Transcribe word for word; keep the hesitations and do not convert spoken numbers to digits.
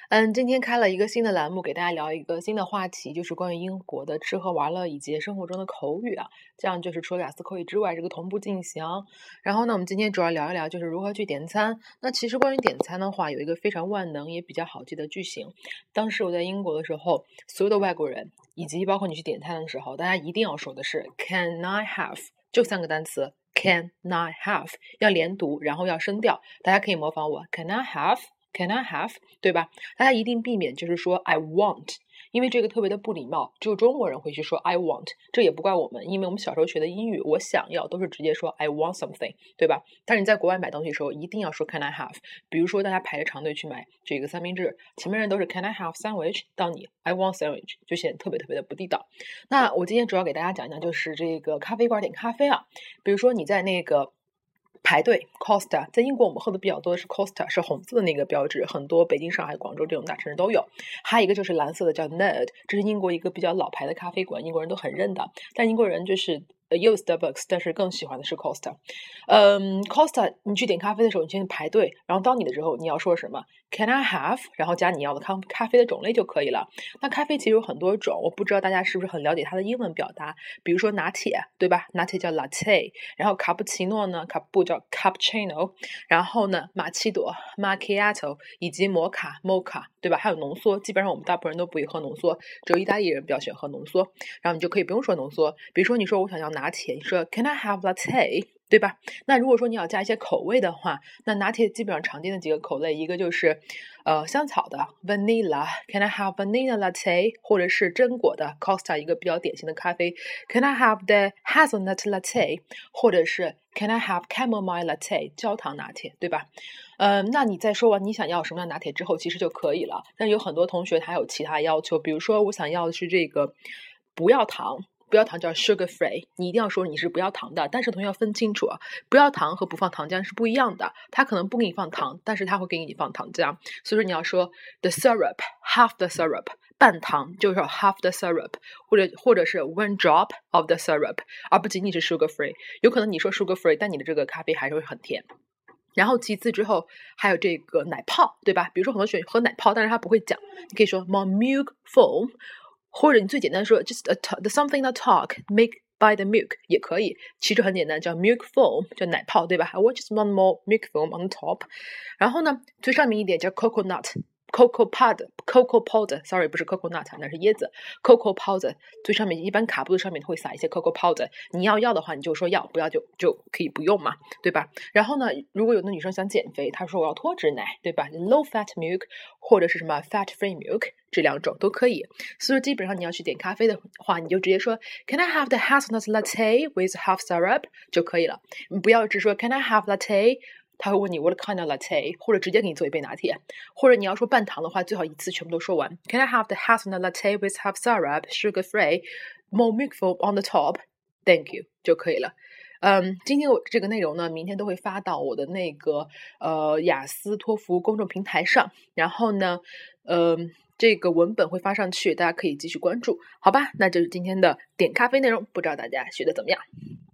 嗯，今天开了一个新的栏目，给大家聊一个新的话题，就是关于英国的吃喝玩乐以及生活中的口语啊。这样就是除了雅思口语之外，这个同步进行。然后呢，我们今天主要聊一聊就是如何去点餐。那其实关于点餐的话，有一个非常万能也比较好记的句型。当时我在英国的时候，所有的外国人以及包括你去点餐的时候，大家一定要说的是 Can I have？就三个单词 Can I have？要连读，然后要声调。大家可以模仿我 Can I have？Can I have？ 对吧？大家一定避免就是说 I want， 因为这个特别的不礼貌，只有中国人会去说 I want， 这也不怪我们，因为我们小时候学的英语，我想要都是直接说 I want something， 对吧？但是你在国外买东西的时候，一定要说 Can I have？ 比如说大家排着长队去买这个三明治，前面人都是 Can I have sandwich？ 到你 I want sandwich， 就显得特别特别的不地道。那我今天主要给大家讲讲就是这个咖啡馆点咖啡啊，比如说你在那个排队 Costa， 在英国我们喝的比较多的是 Costa， 是红色的那个标志，很多北京、上海、广州这种大城市都有。还有一个就是蓝色的叫 Nerd， 这是英国一个比较老牌的咖啡馆，英国人都很认的。但英国人就是呃也有 Starbucks， 但是更喜欢的是 Costa。嗯 Costa 你去点咖啡的时候，你先排队，然后到你的时候你要说什么 Can I have？ 然后加你要的咖咖啡的种类就可以了。那咖啡其实有很多种，我不知道大家是不是很了解它的英文表达，比如说拿铁，对吧？拿铁叫 latte， 然后卡布奇诺呢，卡布叫 cappuccino， 然后呢玛奇朵 macchiato， 以及摩卡 mocha， 对吧？还有浓缩，基本上我们大部分人都不会喝浓缩，只有意大利人比较喜欢喝浓缩，然后你就可以不用说浓缩，比如说你说我想要拿铁，你说 Can I have latte？对吧？那如果说你要加一些口味的话，那拿铁基本上常见的几个口类，一个就是呃香草的 vanilla， Can I have vanilla latte？ 或者是榛果的 Costa 一个比较典型的咖啡 Can I have the hazelnut latte？ 或者是 Can I have chamomile latte？ 焦糖拿铁，对吧？呃，那你在说完你想要什么样的拿铁之后，其实就可以了。但有很多同学他有其他要求，比如说我想要的是这个不要糖。不要糖叫 sugar free， 你一定要说你是不要糖的，但是同学要分清楚啊，不要糖和不放糖浆是不一样的，他可能不给你放糖，但是他会给你放糖浆，所以说你要说 the syrup half the syrup， 半糖就是 half the syrup， 或者或者是 one drop of the syrup， 而不仅仅是 sugar free， 有可能你说 sugar free， 但你的这个咖啡还是会很甜。然后其次之后还有这个奶泡，对吧？比如说很多学生喝奶泡，但是他不会讲，你可以说 more milk foam，或者你最简单说 just a the something that talk make by the milk 也可以，其实很简单，叫 milk foam， 叫奶泡，对吧？ I want just one more milk foam on top。 然后呢最上面一点叫 coconut。Cocoa powder, cocoa powder, sorry， 不是 coconut， 那是椰子。Cocoa powder 最上面一般卡布的上面会撒一些 cocoa powder， 你要要的话你就说要，不要就就可以不用嘛，对吧？然后呢，如果有的女生想减肥，她说我要脱脂奶，对吧？ low fat milk 或者是什么 fat free milk， 这两种都可以。所以基本上你要去点咖啡的话，你就直接说 Can I have the hazelnut latte with half syrup 就可以了。你不要只说 Can I have latte，他会问你 What kind of latte， 或者直接给你做一杯拿铁，或者你要说半糖的话，最好一次全部都说完。Can I have the hazelnut latte with half syrup, sugar free, more milk foam on the top? Thank you 就可以了。嗯，今天我这个内容呢，明天都会发到我的那个呃雅思托福公众平台上，然后呢，呃，这个文本会发上去，大家可以继续关注，好吧？那这是今天的点咖啡内容，不知道大家学的怎么样？